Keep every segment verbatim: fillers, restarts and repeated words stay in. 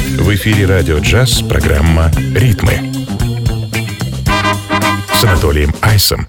В эфире радио «Джаз» программа «Ритмы» с Анатолием Айсом.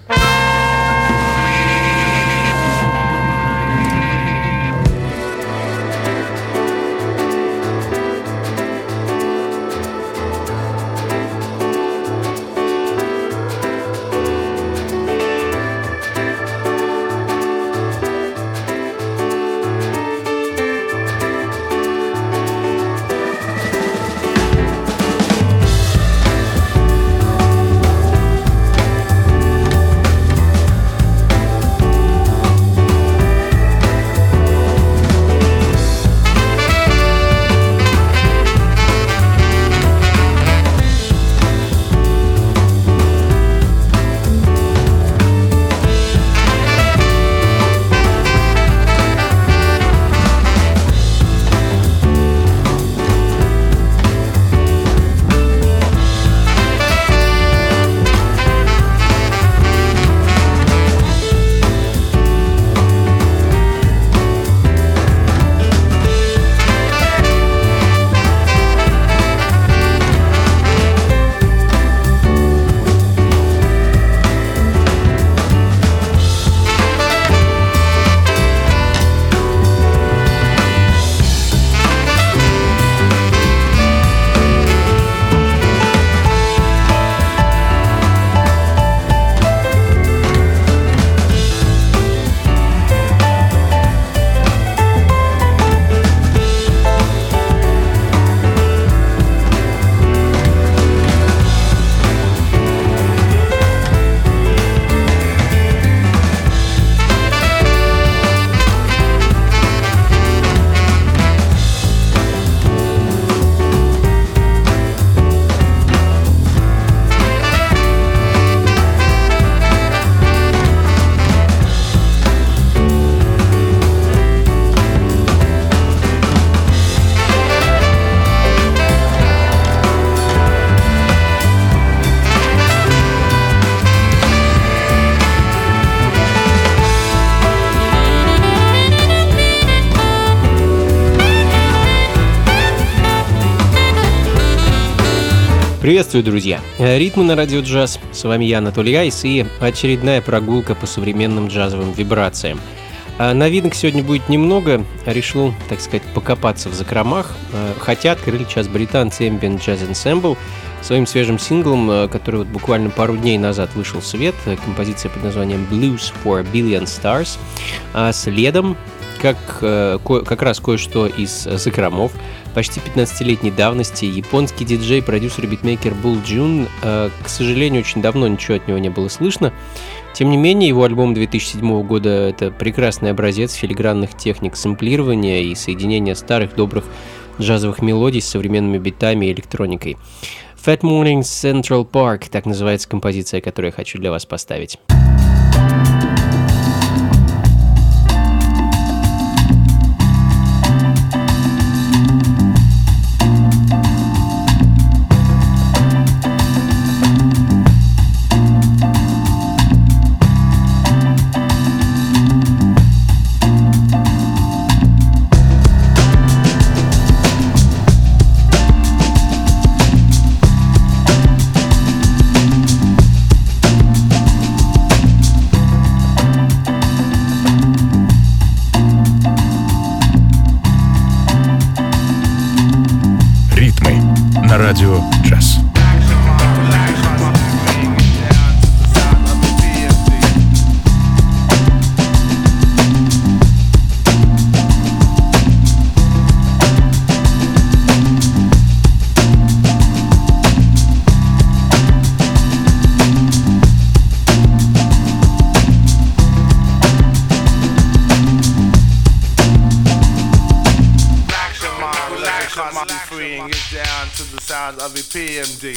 Приветствую, друзья! Ритмы на радио «Джаз». С вами я, Анатолий Айс, и очередная прогулка по современным джазовым вибрациям. Новинок сегодня будет немного. Решил, так сказать, покопаться в закромах. Хотя открыли час британцы Ambient Jazz Ensemble своим свежим синглом, который вот буквально пару дней назад вышел в свет. Композиция под названием Blues for a Billion Stars. А следом, как, как раз кое-что из закромов. Почти пятнадцатилетней давности японский диджей, продюсер и битмейкер Bull June. К сожалению, очень давно ничего от него не было слышно. Тем не менее, его альбом две тысячи седьмого года — это прекрасный образец филигранных техник сэмплирования и соединения старых добрых джазовых мелодий с современными битами и электроникой. Fat Mornings Central Park — так называется композиция, которую я хочу для вас поставить. Радио «Джаз». Of a P M D.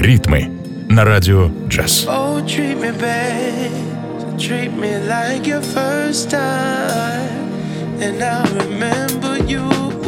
Ритмы на радио джаз. Oh, treat me bad, treat me like your first time, and I'll remember you.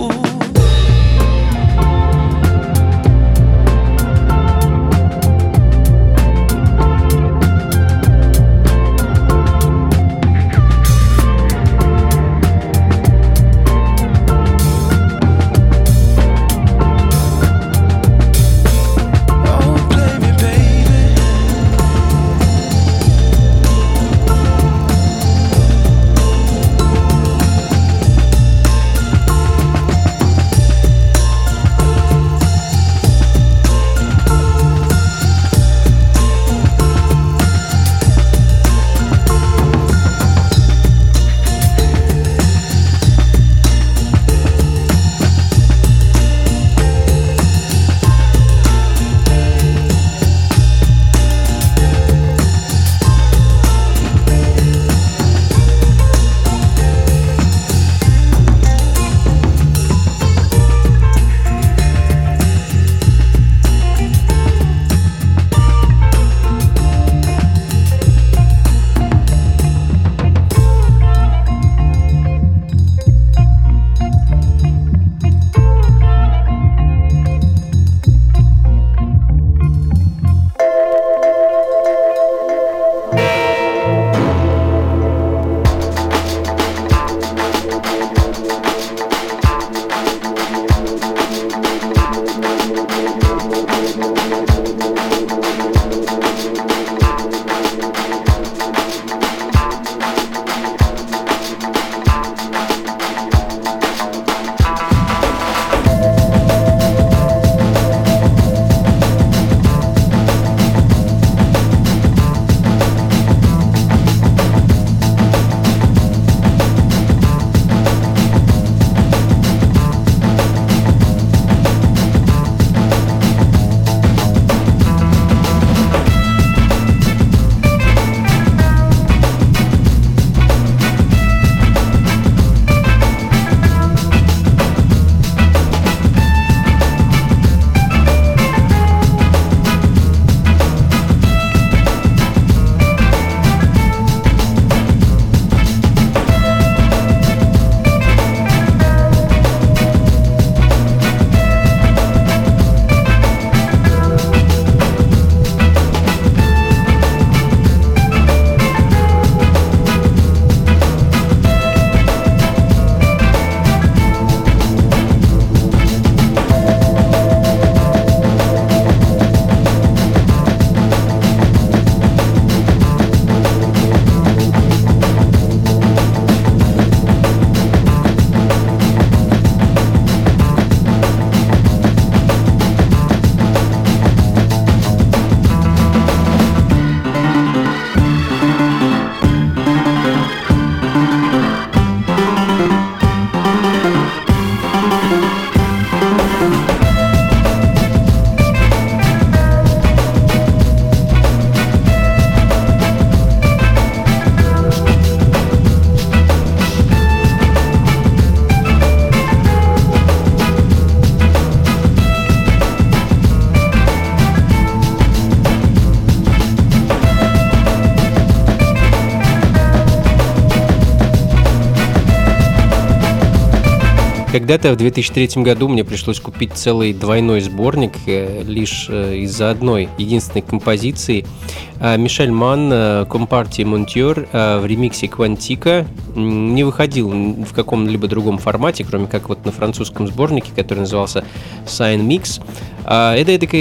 Когда-то в две тысячи третьем году мне пришлось купить целый двойной сборник э, лишь э, из-за одной единственной композиции. Э, Мишель Манн «Compartie Monteur» э, в ремиксе «Квантика» не выходил в каком-либо другом формате, кроме как вот на французском сборнике, который назывался «Sign Mix». Э, это такая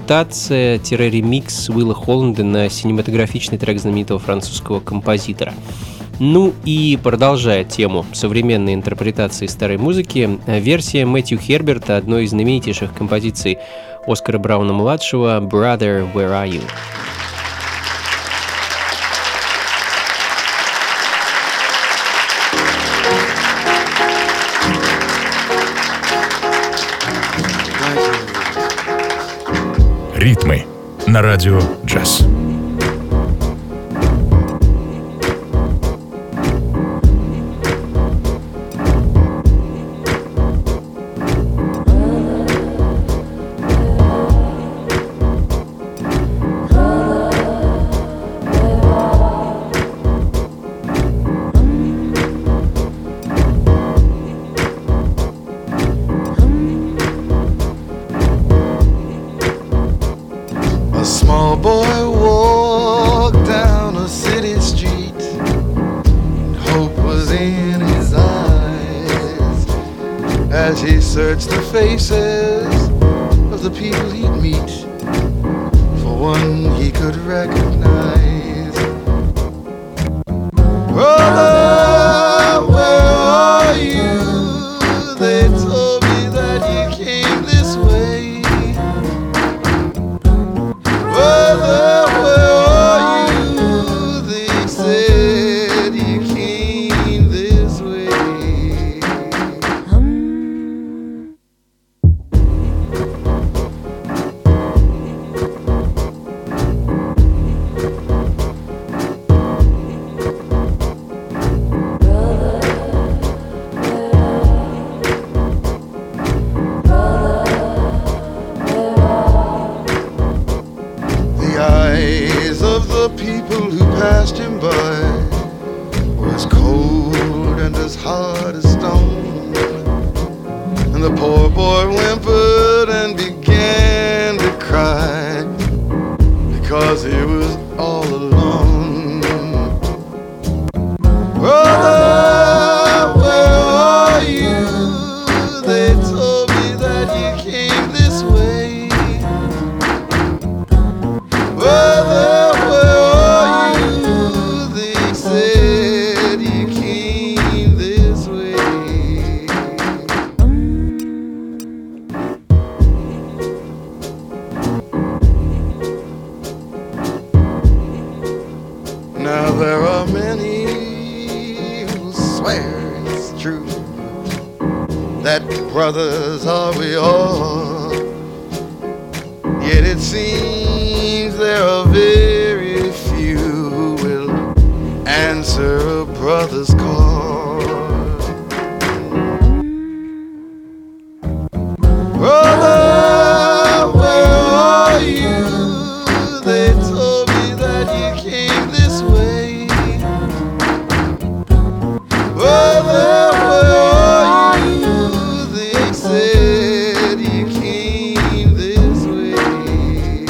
интерпретация-ремикс Уилла Холланда на синематографичный трек знаменитого французского композитора. Ну и продолжая тему современной интерпретации старой музыки, версия Мэтью Херберта одной из знаменитейших композиций Оскара Брауна-младшего «Brother, Where Are You?». Ритмы на радио джаз. in his eyes as he searched the faces of the people he'd meet. For one he could recognize. Brother, where are you? They told me that you came this way. Brother, where are you? They said you came this way. The eyes of the people who passed him by were as cold and as hard as stone. And the poor boy whimpered and began to cry because he was all alone. Brother, where are you? They told me that you came this way. Brother, where are you? They said you came this way. Now there are many who swear it's true that brothers are we all. Yet it seems there are very few who will answer a brother's call. Brother, where are you? They told me that you came this way. Brother, where are you? They said you came this way.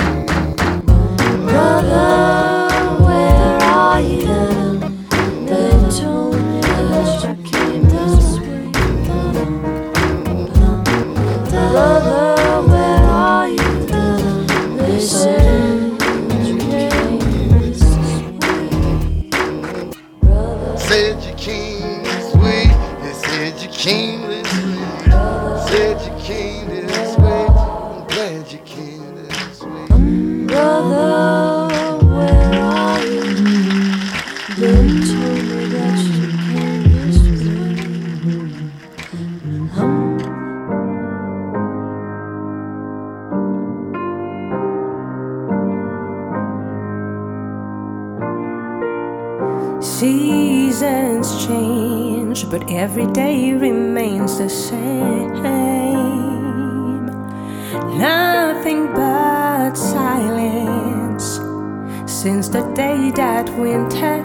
Brother, where are you? They told me that you came this way. Brother, where are you? They said you came this way. Brother, Said you came this way. They said you came this way. Said you came this way. I'm glad you came this way. brother, where are you? They told me that you came this way. Hum. Seasons change, but every day remains the same. Nothing but silence since the day that winter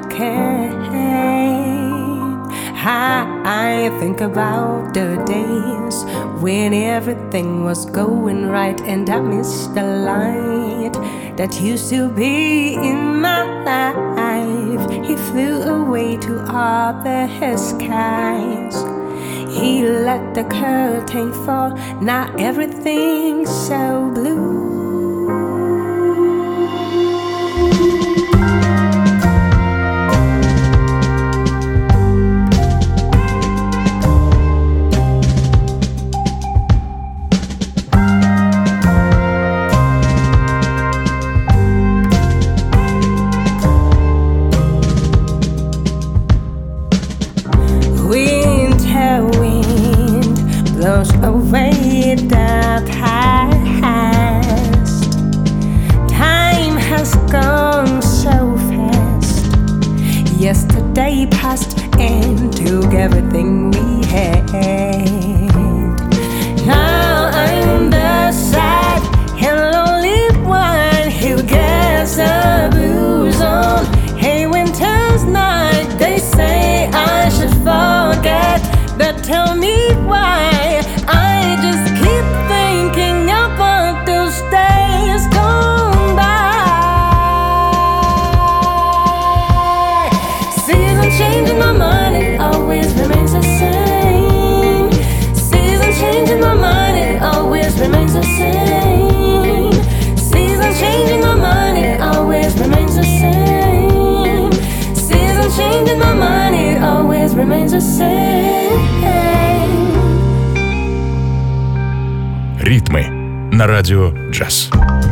came. I think about the days when everything was going right, and I missed the light that used to be in my life. He flew away to other skies. He let the curtain fall. Now everything's so blue. Winter wind blows away the past. Time has gone so fast. Yesterday passed and took everything we had. Now I'm the sad and lonely one who gets the blues on a winter's night. They say I should forget, but tell me why. I just keep thinking about those days gone by. Seasons changing, I'm remains the same. Ритмы на радио джаз.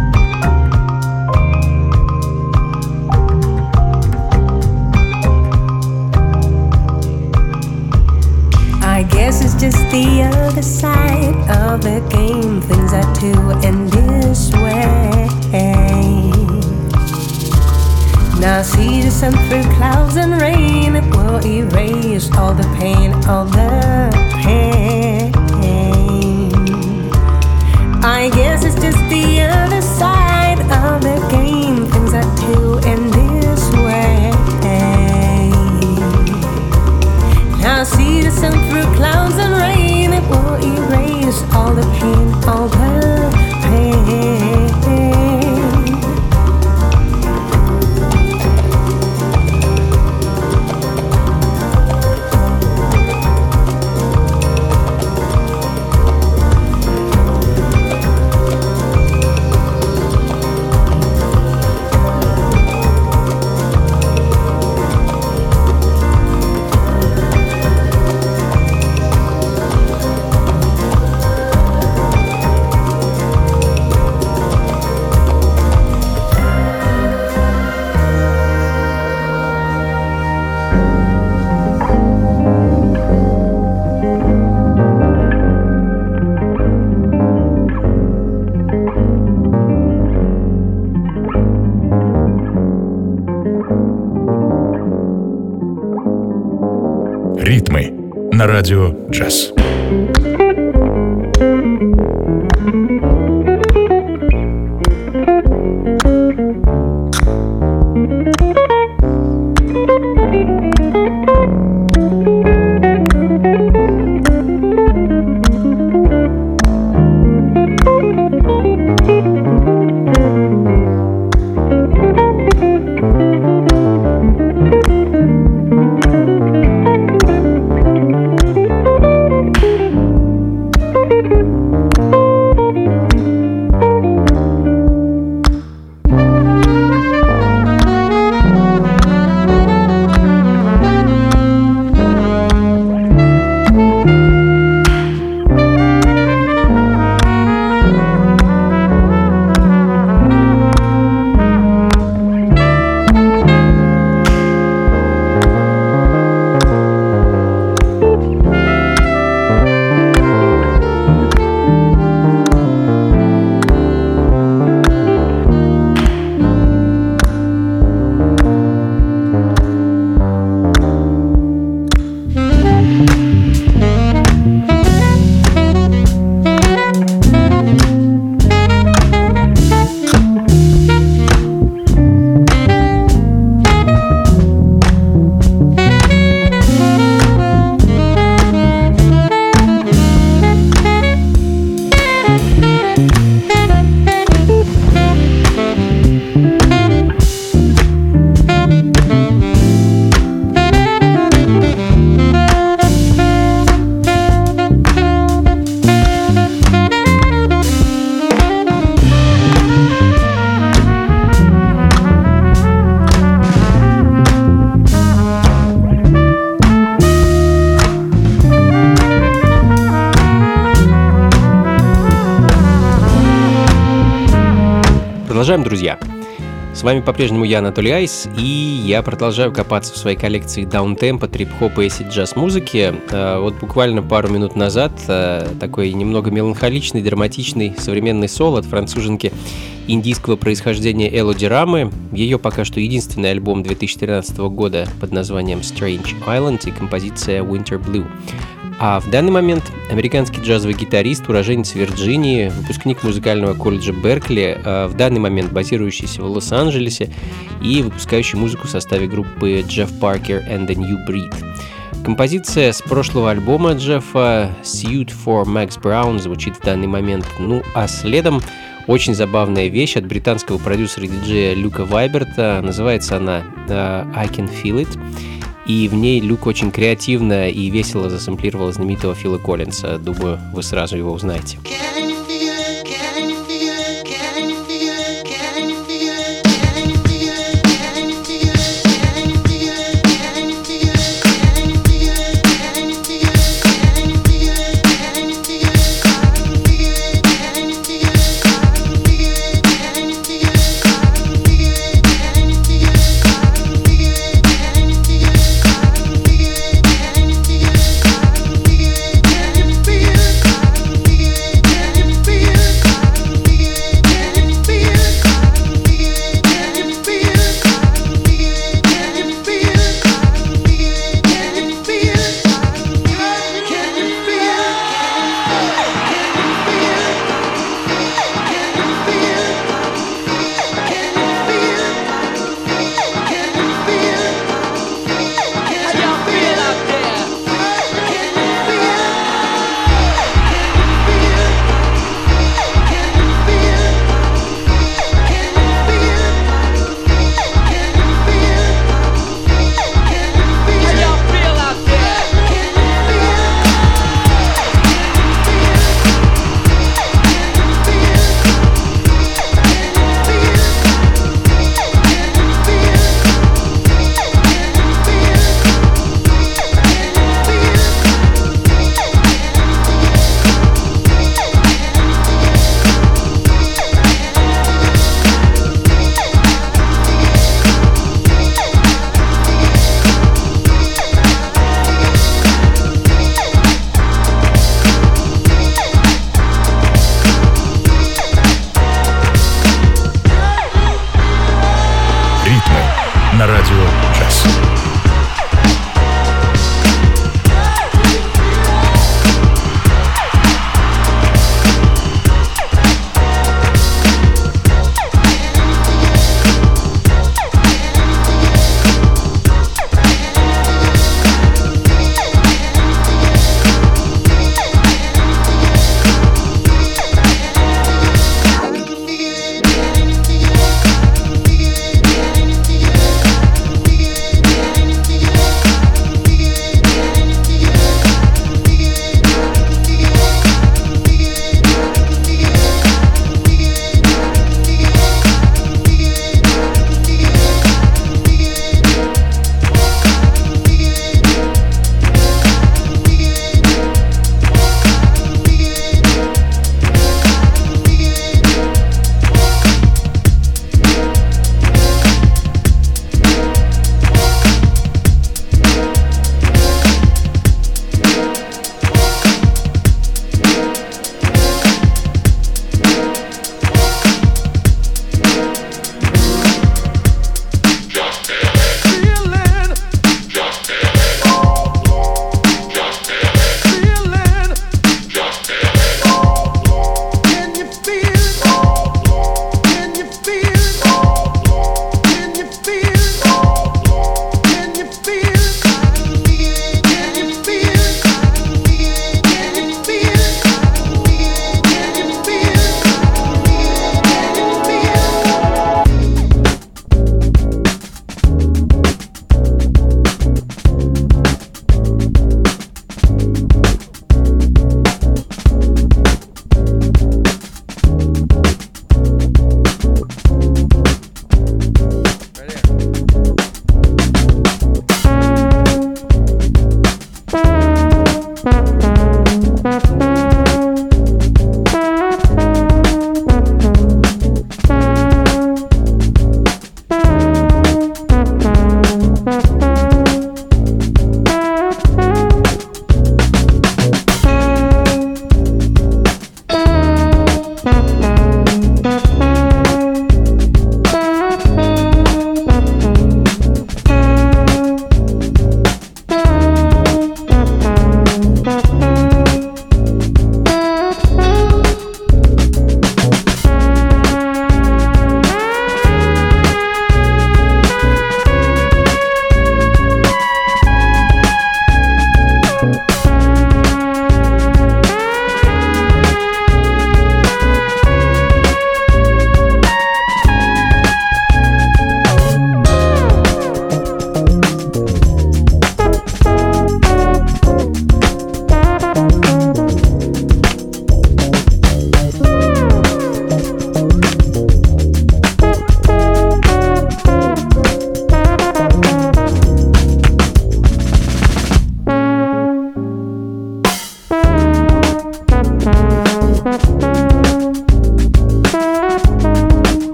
I guess it's just the other side of the game. Things are too in this way. Now see the sun through clouds and rain. It will erase all the pain, all the pain. I guess it's just the other side of the game. Things are too in this way. Now see the sun through clouds and rain. It will erase all the pain, all the pain. Ритмы на радио джаз. Продолжаем, друзья. С вами по-прежнему я, Анатолий Айс, и я продолжаю копаться в своей коллекции даунтемпа, трип-хопа и джаз-музыки. Вот буквально пару минут назад такой немного меланхоличный, драматичный современный соло от француженки индийского происхождения Элоди Рамы. Ее пока что единственный альбом две тысячи тринадцатого года под названием Strange Island и композиция Winter Blue. А в данный момент американский джазовый гитарист, уроженец Вирджинии, выпускник музыкального колледжа Беркли, в данный момент базирующийся в Лос-Анджелесе и выпускающий музыку в составе группы Jeff Parker and the New Breed. Композиция с прошлого альбома Джеффа «Suit for Max Brown» звучит в данный момент. Ну а следом очень забавная вещь от британского продюсера и диджея Люка Вайберта. Называется она uh, «I Can Feel It». И в ней Люк очень креативно и весело засэмплировал знаменитого Фила Коллинса. Думаю, вы сразу его узнаете. Can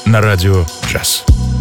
на радио джаз.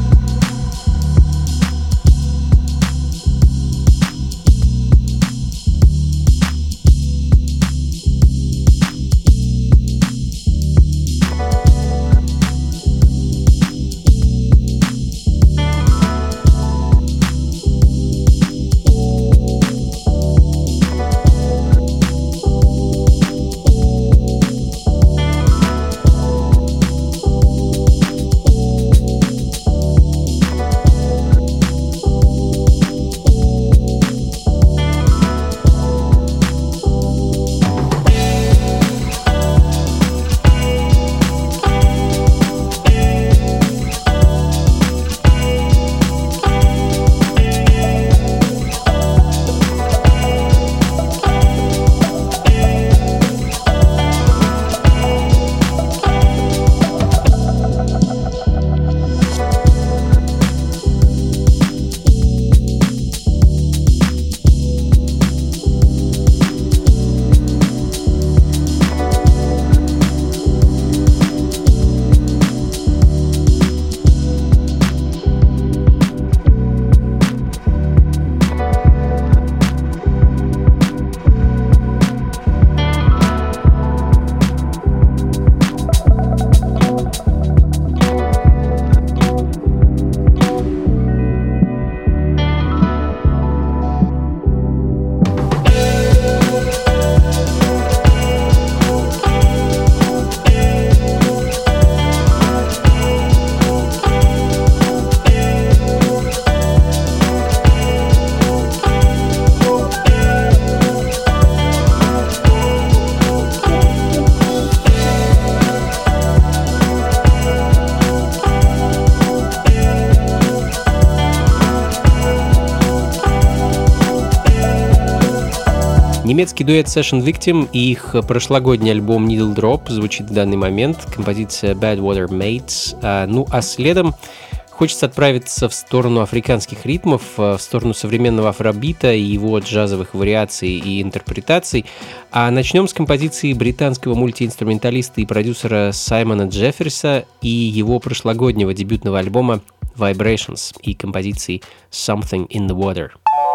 Немецкий дуэт Session Victim и их прошлогодний альбом Needle Drop звучит в данный момент, композиция Bad Water Mates. А, ну а следом хочется отправиться в сторону африканских ритмов, в сторону современного афробита и его джазовых вариаций и интерпретаций. А начнем с композиции британского мультиинструменталиста и продюсера Саймона Джефферса и его прошлогоднего дебютного альбома Vibrations и композиции Something in the Water.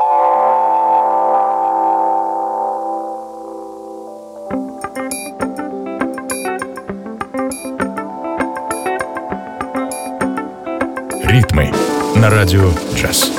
Ритмы на радио джаз.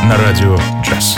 на радио джаз.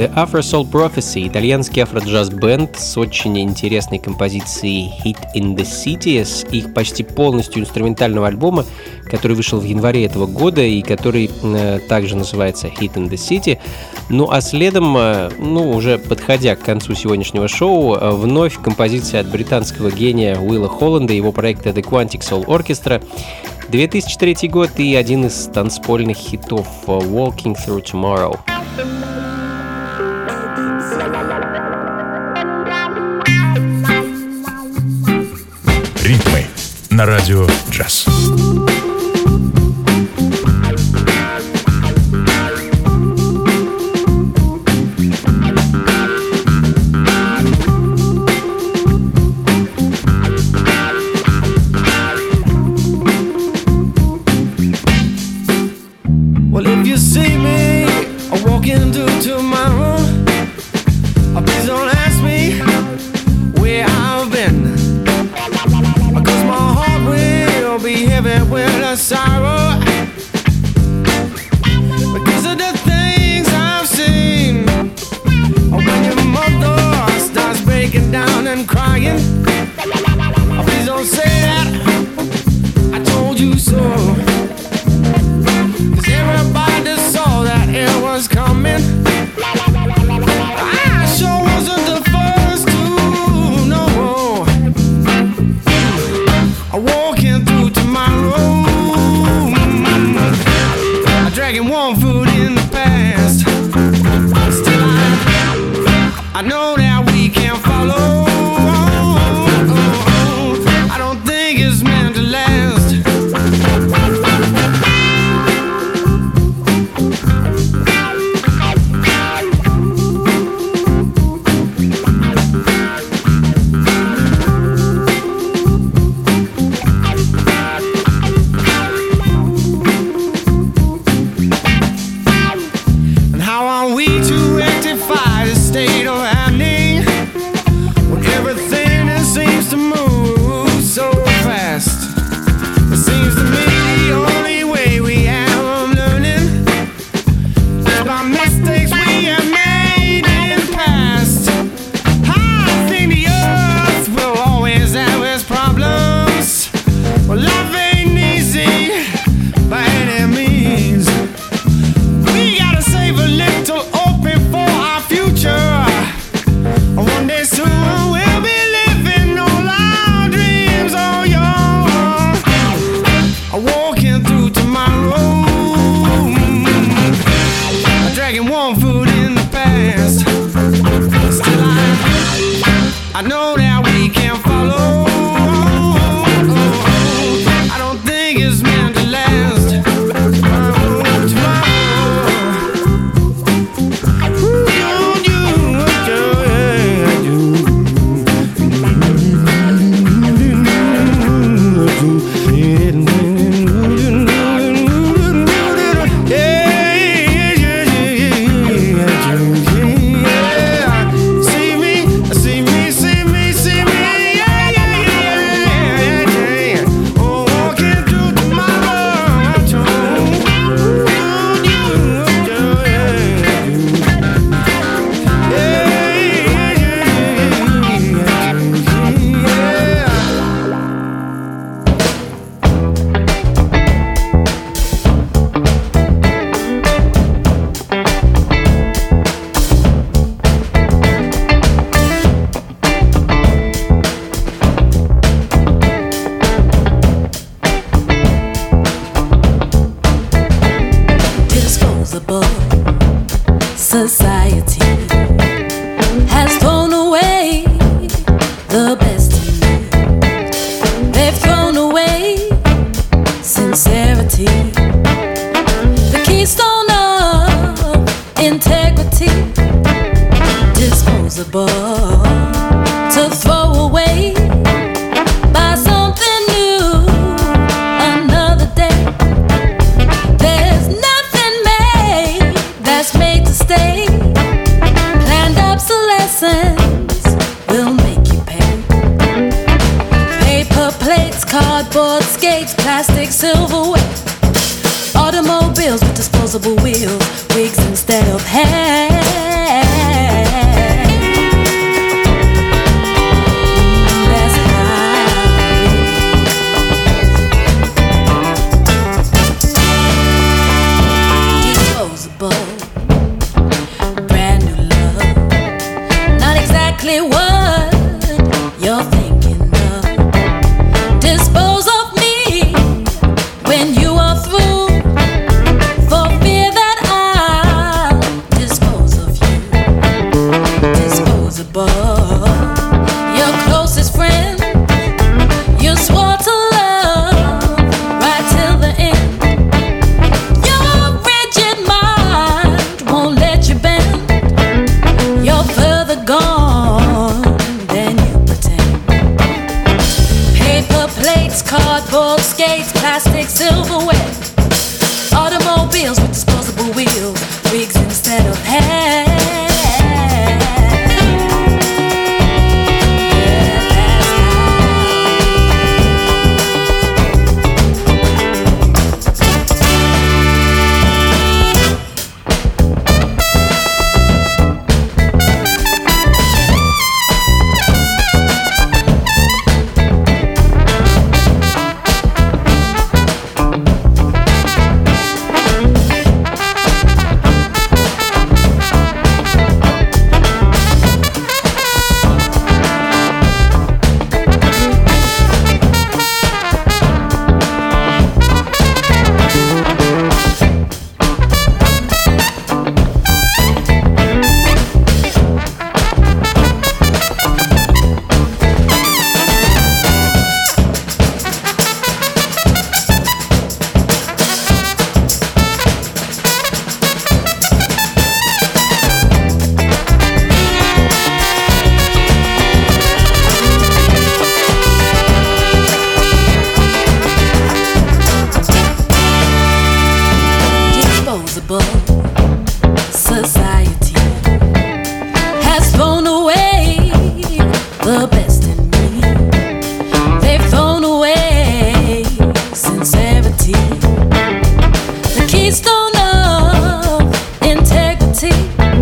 The Afro Soul Prophecy — итальянский афро-джаз-бенд с очень интересной композицией Hit in the City, с их почти полностью инструментального альбома, который вышел в январе этого года и который э, также называется Hit in the City. Ну а следом, э, ну уже подходя к концу сегодняшнего шоу, э, вновь композиция от британского гения Уилла Холланда и его проекта The Quantic Soul Orchestra. две тысячи третий год и один из танцпольных хитов Walking Through Tomorrow. Ритмы на радио джаз. Well, if you see me walking through tomorrow, please don't ask me where I've been, 'cause my heart will be heavy with a sorrow, because of the things I've seen. When your mother starts breaking down and crying, please don't say that I told you so. Everybody saw that it was coming. I sure wasn't the first to know. I'm walking through tomorrow, I'm dragging one foot in the past. Still I, I know that we can't follow. I don't think it's meant to last. Society has thrown away the best in me. They've thrown away sincerity, the keystone of integrity, disposable to throw away. Buy something new another day. There's nothing made that's made to stay. Planned obsolescence will make you pay. Paper plates, cardboard skates, plastic silverware, automobiles with disposable wheels, wigs instead of hair. instead of hair. Society has thrown away the best in me. They've thrown away sincerity, the keystone of integrity.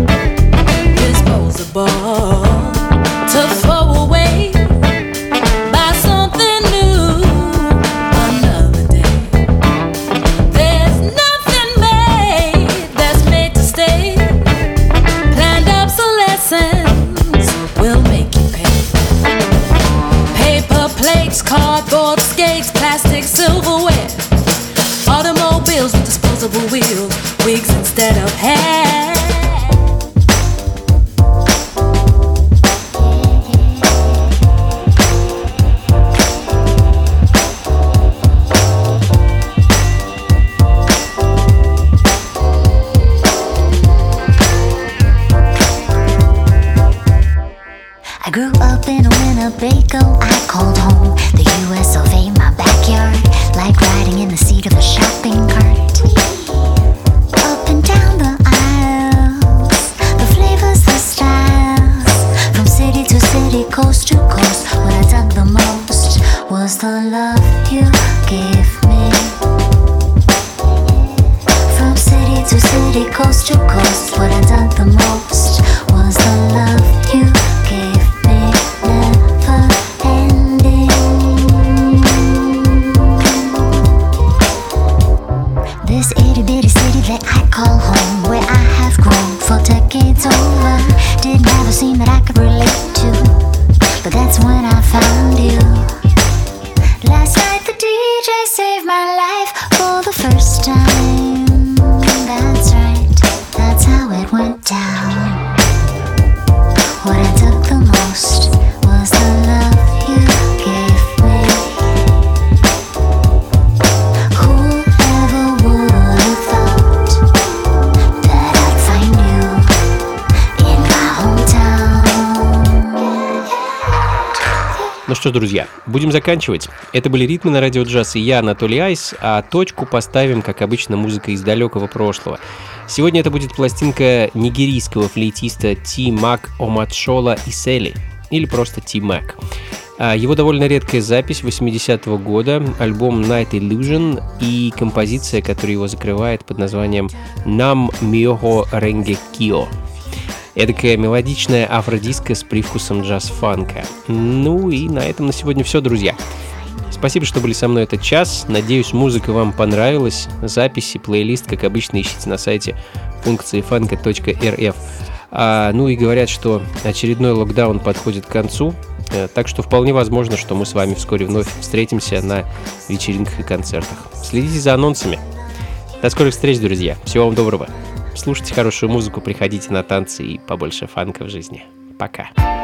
Disposable to throw away. Buy something new another day. There's nothing made that's made to stay. Planned obsolescence will make you pay. Paper plates, cardboard skates, plastic silverware, automobiles with disposable wheels, wigs instead of hair. I grew up in a Winnebago, I called home the U S of A, my backyard, like riding in the seat of a shopping cart. Up and down the aisles, the flavors, the styles, from city to city, coast to coast. What I dug the most was the love you gave me. From city to city, coast to coast. What I dug the most was the love you gave me. Never ending. This itty bitty city that I call home, where I have grown for decades over, didn't have a scene that I could relate to, but that's when I found you. Last night the D J saved my life for the first time. That's right, that's how it went down. What I took the most was the love you gave me. Whoever would have thought that I'd find you in my hometown. Ну что ж, друзья, будем заканчивать. Это были «Ритмы» на радио джаз, и я, Анатолий Айс, а точку поставим, как обычно, музыка из далекого прошлого. Сегодня это будет пластинка нигерийского флейтиста Ти Мак Оматшола Исели, или просто Ти Мак. Его довольно редкая запись восьмидесятого года, альбом Night Illusion и композиция, которая его закрывает под названием Нам Миохо Ренге Кио. Эдакая мелодичная афродиска с привкусом джаз-фанка. Ну и на этом на сегодня все, друзья. Спасибо, что были со мной этот час. Надеюсь, музыка вам понравилась. Записи, плейлист, как обычно, ищите на сайте функции фанка точка эр эф. А, ну и говорят, что очередной локдаун подходит к концу. Так что вполне возможно, что мы с вами вскоре вновь встретимся на вечеринках и концертах. Следите за анонсами. До скорых встреч, друзья. Всего вам доброго. Слушайте хорошую музыку, приходите на танцы и побольше фанка в жизни. Пока.